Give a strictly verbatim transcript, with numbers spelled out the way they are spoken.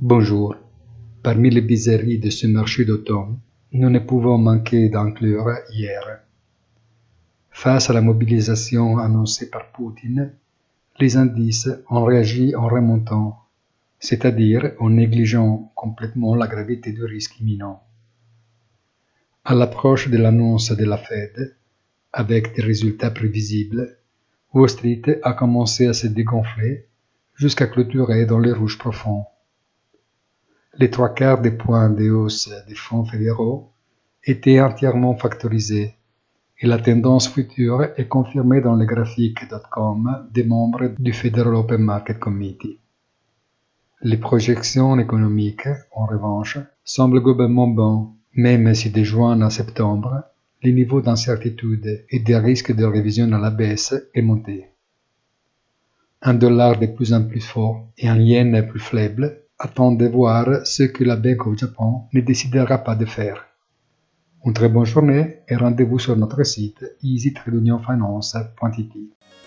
Bonjour. Parmi les bizarreries de ce marché d'automne, nous ne pouvons manquer d'inclure hier. Face à la mobilisation annoncée par Poutine, les indices ont réagi en remontant, c'est-à-dire en négligeant complètement la gravité du risque imminent. À l'approche de l'annonce de la Fed, avec des résultats prévisibles, Wall Street a commencé à se dégonfler jusqu'à clôturer dans les rouges profonds. Les trois quarts des points de hausse des fonds fédéraux étaient entièrement factorisés et la tendance future est confirmée dans les graphiques .com des membres du Federal Open Market Committee. Les projections économiques, en revanche, semblent globalement bonnes, même si de juin à septembre, les niveaux d'incertitude et des risques de révision à la baisse est monté. Un dollar de plus en plus fort et un yen plus faible attendent de voir ce que la Bank of Japan ne décidera pas de faire. Une très bonne journée et rendez-vous sur notre site easy trade union finance point i t.